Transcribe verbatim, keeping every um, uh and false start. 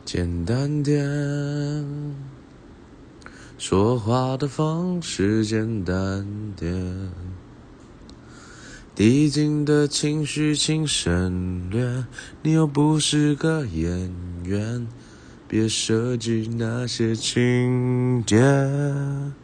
简单点，说话的方式简单点，递进的情绪请省略，你又不是个演员，别设计那些情节。